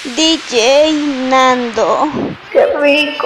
DJ Nando. ¡Qué rico!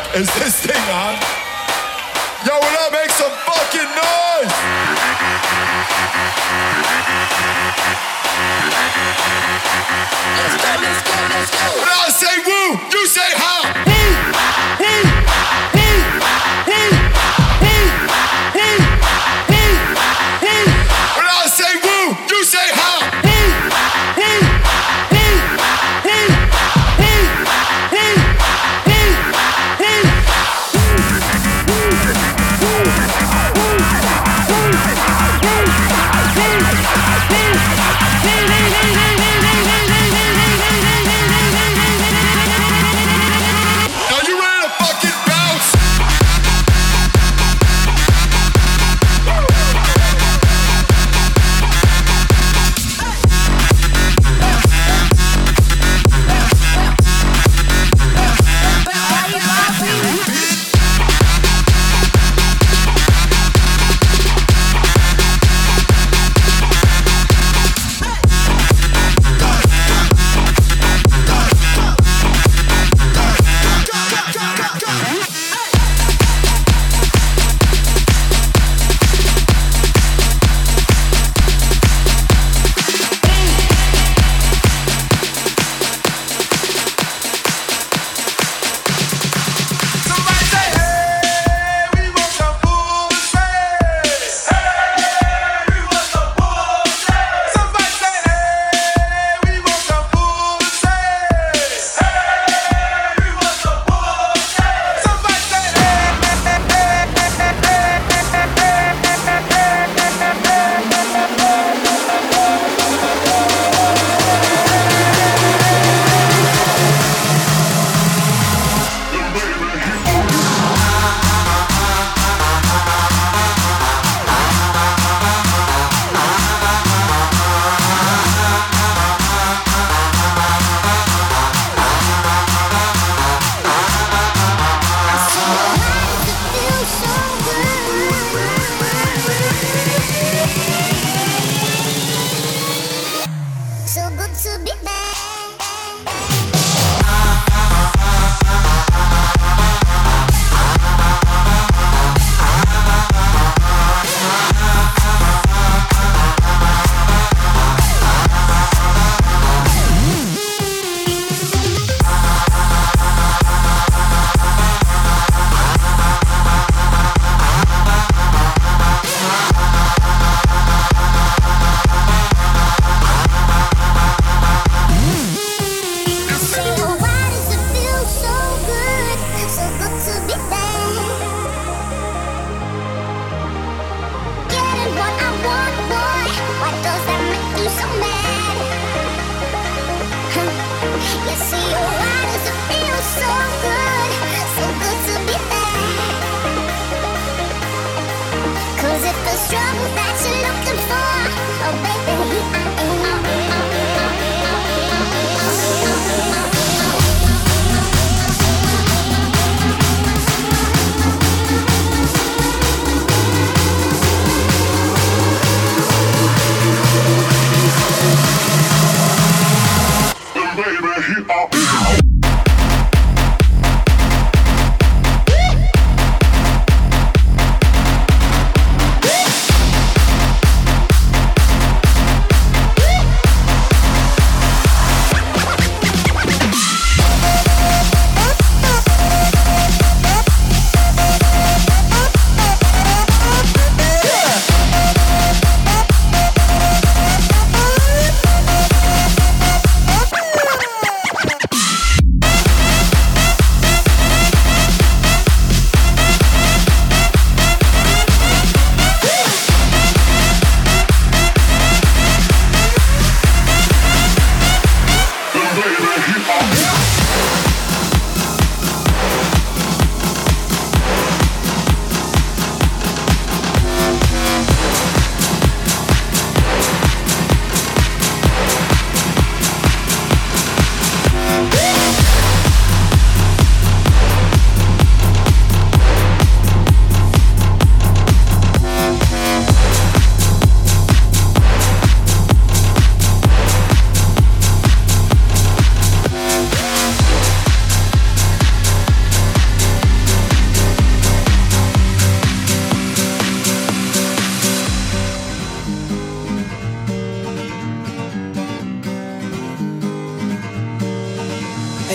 Is this thing on? Yo, will I make some fucking noise? Let's go. When I say woo, you say how. When I say woo, you say how.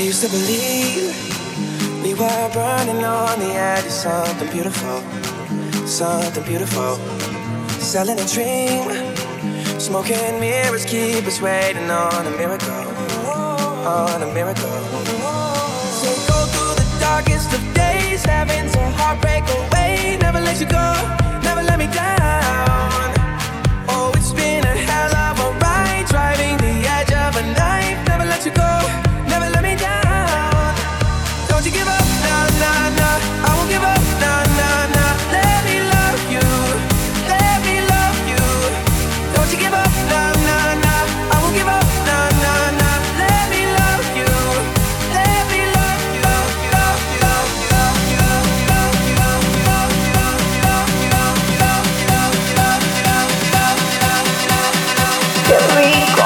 used to believe we were burning on the edge of something beautiful, something beautiful. Selling a dream, smoking mirrors keep us waiting on a miracle, on a miracle. So go through the darkest of days, having to heartbreak away. Never let you go, never let me down. Oh, it's been a hell of a ride, driving the edge of a knife. Never let you go, never let me down. Don't you give up, nah, nah, nah. I won't give up, nah, nah, nah. Let me love you, let me love you. Don't you give up, nah, nah, nah. I won't give up, nah, nah, nah. Let me love you, let me love you, love you, love you, love you, love you, love you, love you, love you, love you, love you, love you, love you, love you, love you, love you, love you, love you. Qué rico.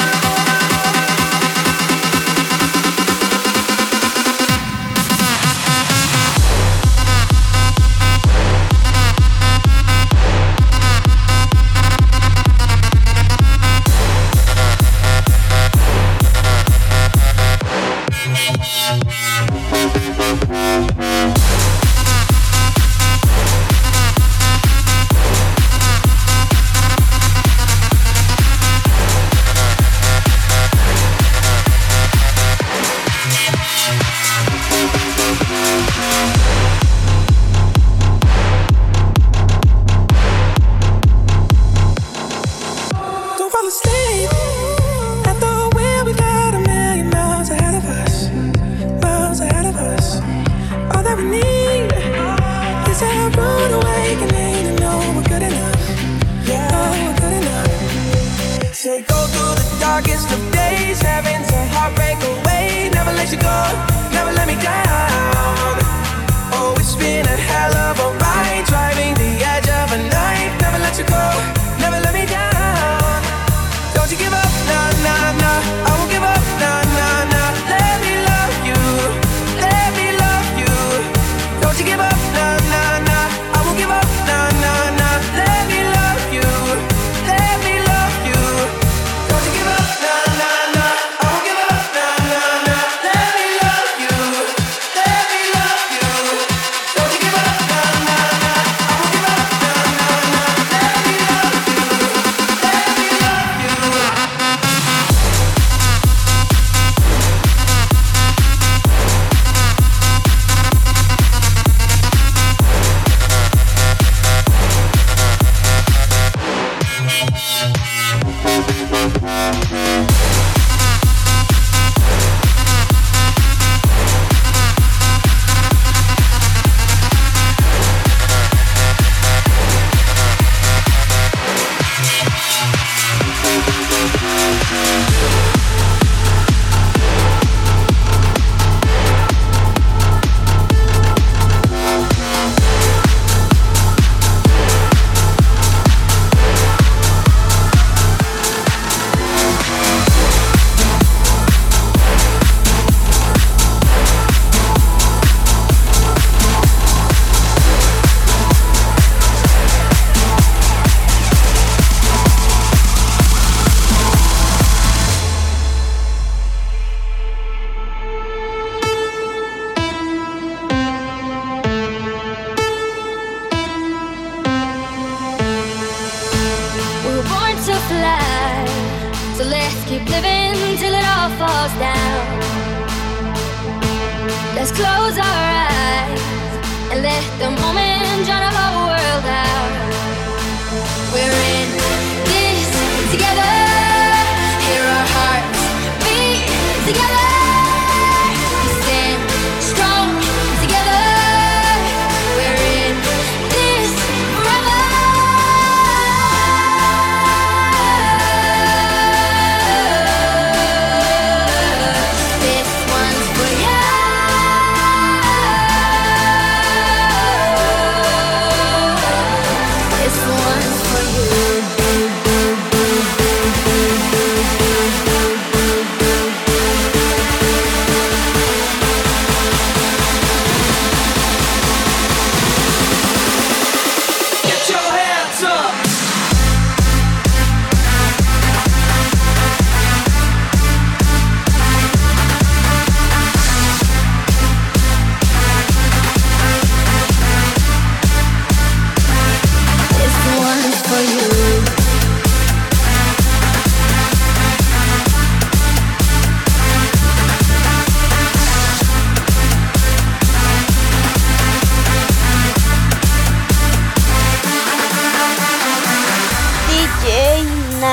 Don't fall asleep at the wheel. We got a million miles ahead of us, miles ahead of us. All that we need is a rude awakening to know we're good enough. Yeah, we're good enough. Say go through the darkest of days, having to heartbreak away. Never let you go, never let me down. Oh, it's been a hell of a ride, driving the edge of a knife. Never let you go, never let me down. Don't you give up, nah, nah, nah. I won't give up, nah, nah, nah. Let me love you, let me love you. Don't you give up, nah, nah, nah. I won't give up, nah, nah, nah. Let me love you, let me love you. Don't you give up, nah, nah, nah. I won't give up, nah, nah, nah. Let me love you, let me love you. Don't you give up, nah, nah, nah. I won't give up, nah, nah, nah. Let me love you, let me love you. We were born to fly, so let's keep living till it all falls down. Let's close our eyes and let the moment drown our whole world out. We're in this together, hear our hearts beat together. We stand strong together. We're in this forever. This one's for you.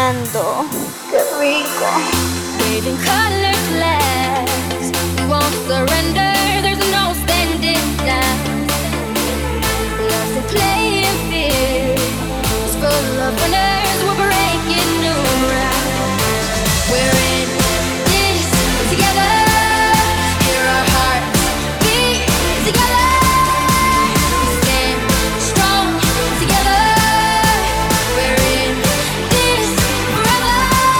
llenando. Qué rico. Waving color flags, we won't surrender. There's no standing down. Love's a playing field, it's full of winners. We're breaking new ground. We're in this together. Hear our hearts beat together. Stand strong together. We're in this forever.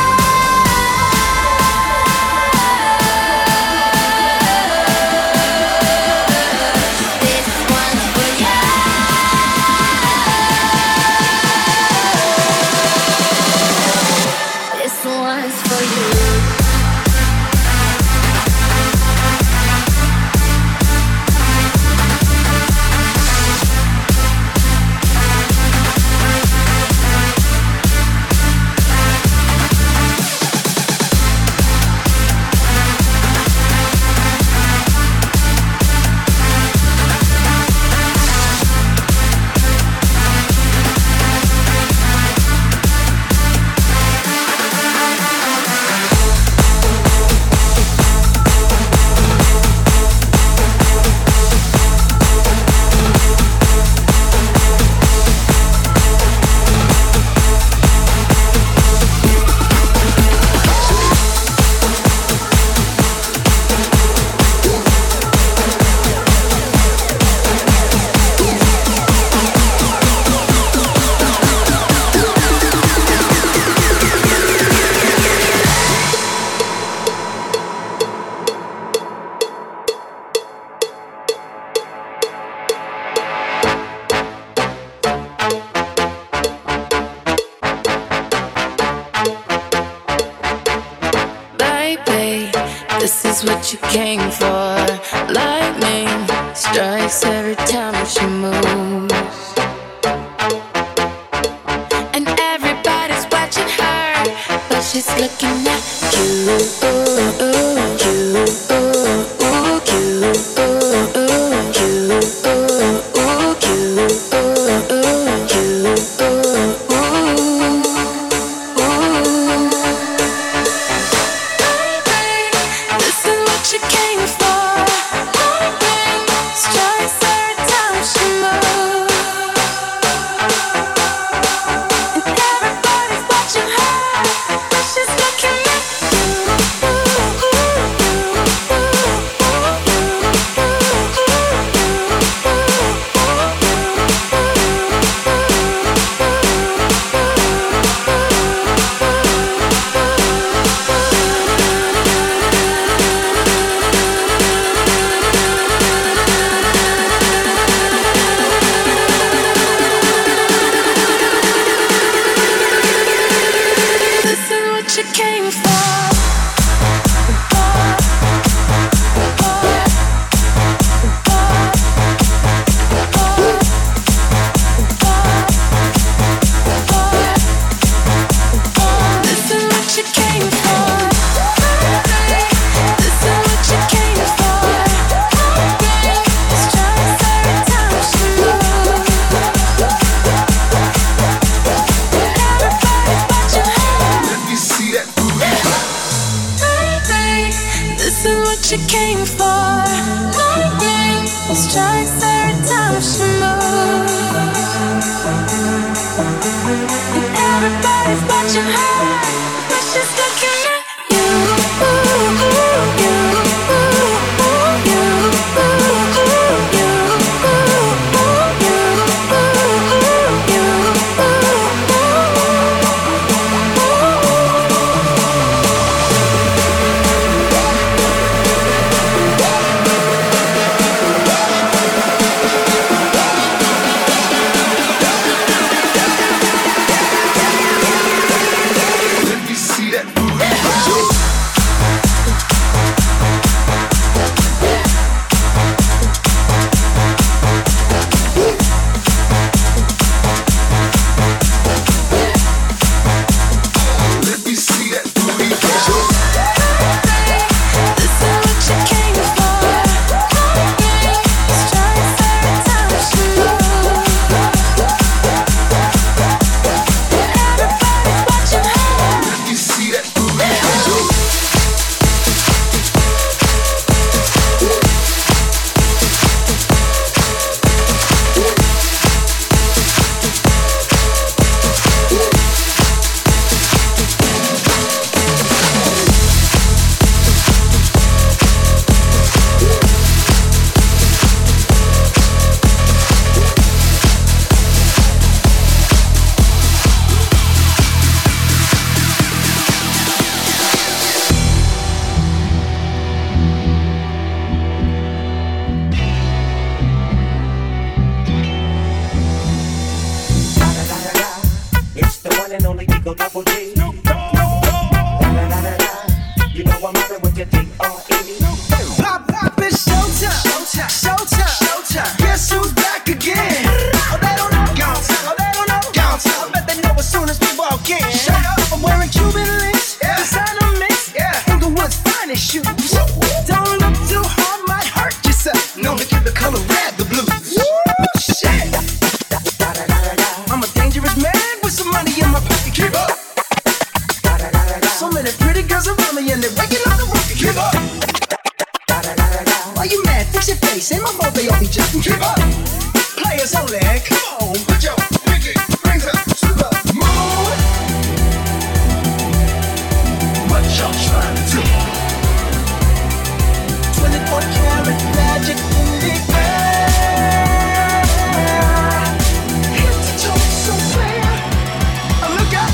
This one's for you. This one's for you. Baby, this is what you came for. Lightning strikes every time she moves, and everybody's watching her, but she's looking at you. This is what you came for. Lightning strikes every time she moves, and everybody's watching her, but she's looking at This is what you came for. This is what you came for. This is what you came for. Strikes every time she moves. Everybody's watching her. Let me see that booty. Baby, this is what you came for. Lightning strikes every time she moves, and everybody's watching her, but she's looking at you. Eagle Double G. Da-da-da-da-da. You know I'm mobbing with your D-R-E. Pop, pop, it's showtime. Showtime. Showtime. Showtime. Guess who's back again? Oh, they don't know. Oh, they don't know. I bet they know as soon as we walk in. Shut up. I'm wearing Cuban links. Yeah. Designer mix. Yeah. Inglewood's finest shoes. Don't look too hard, might hurt yourself. Known to give the color red the blues. Shit. I'm a dangerous man with some money in my pocket. Keep up. So many pretty girls around me and they're waking up the rocket. Keep up. Why you mad? Fix your face. Ain't my fault they all be just keep up. Players only. Come on, put your pinky rings up to the moon. What y'all trying to do? 24 karat magic in the air. Head to toe so clear. Look out.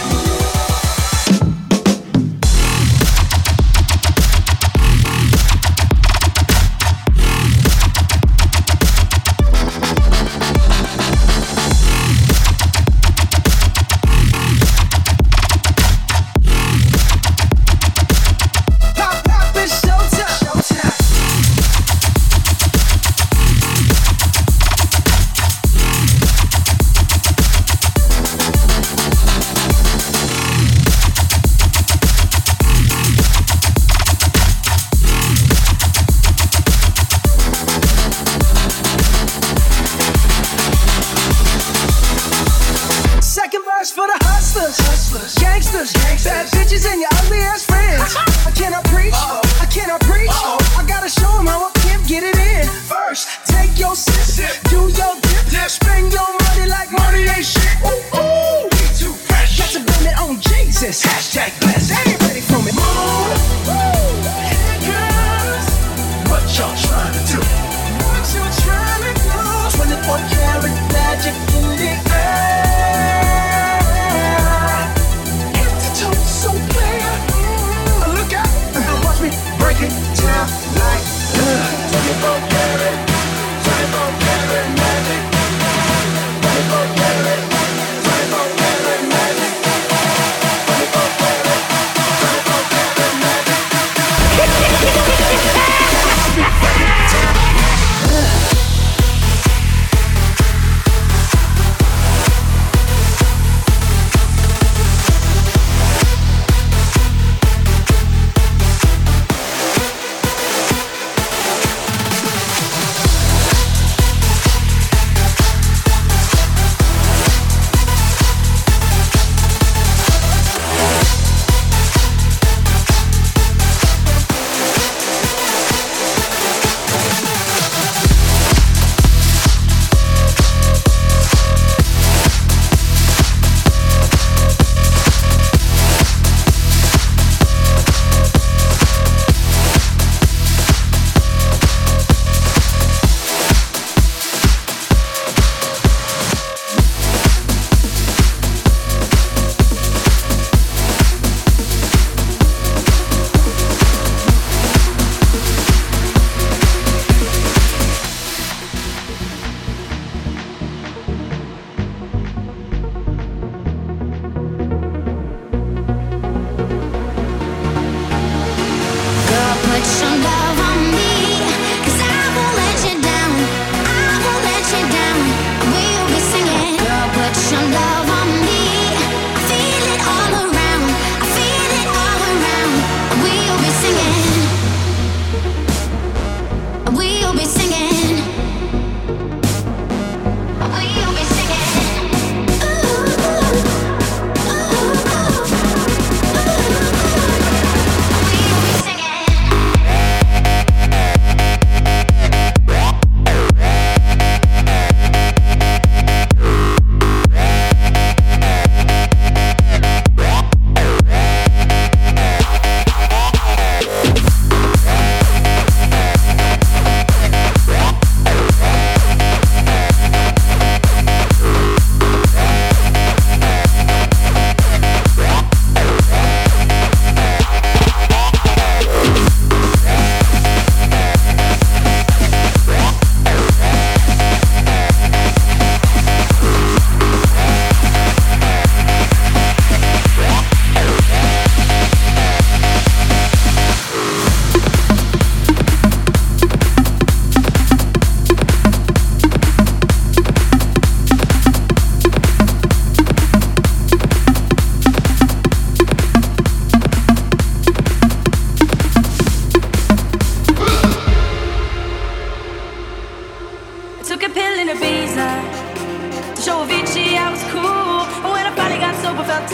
Pop, pop, it's showtime. Showtime. Second verse for the hustlers, gangsters, bad bitches and your ugly ass friends. I cannot preach, I cannot preach. I gotta show 'em how a pimp get it in. First, take your sip, do your dip, spend your money like money ain't shit. Ooh, ooh, we too fresh. Got to blame it on Jesus. Hashtag blessed. They ain't ready for me. Moon, here comes. What y'all trying to do? What you trying to do? 24 karat magic in the air. Head to toe so clear. Look out.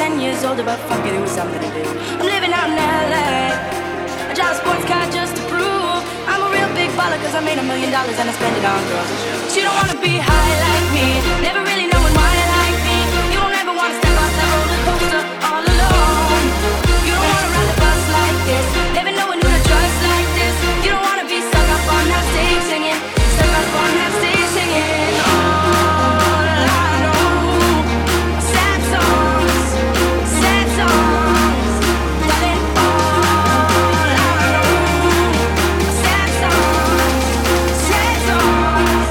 10 years older, but fuck it, it was something to do. I'm living out in LA. I drive a sports car just to prove I'm a real big baller, cause I made $1 million and I spend it on girls and shoes. She don't wanna be high like me, never really knowing why I like me. You don't ever wanna step off that roller coaster all alone. You don't wanna ride the bus like this, never knowing who to trust like this. You don't wanna be stuck up on that stage singing, stuck up on that stage singing. All I know, sad songs, sad songs, darling. All I know, sad songs, sad songs.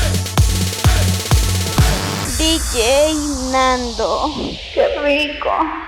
DJ Nando. Qué rico.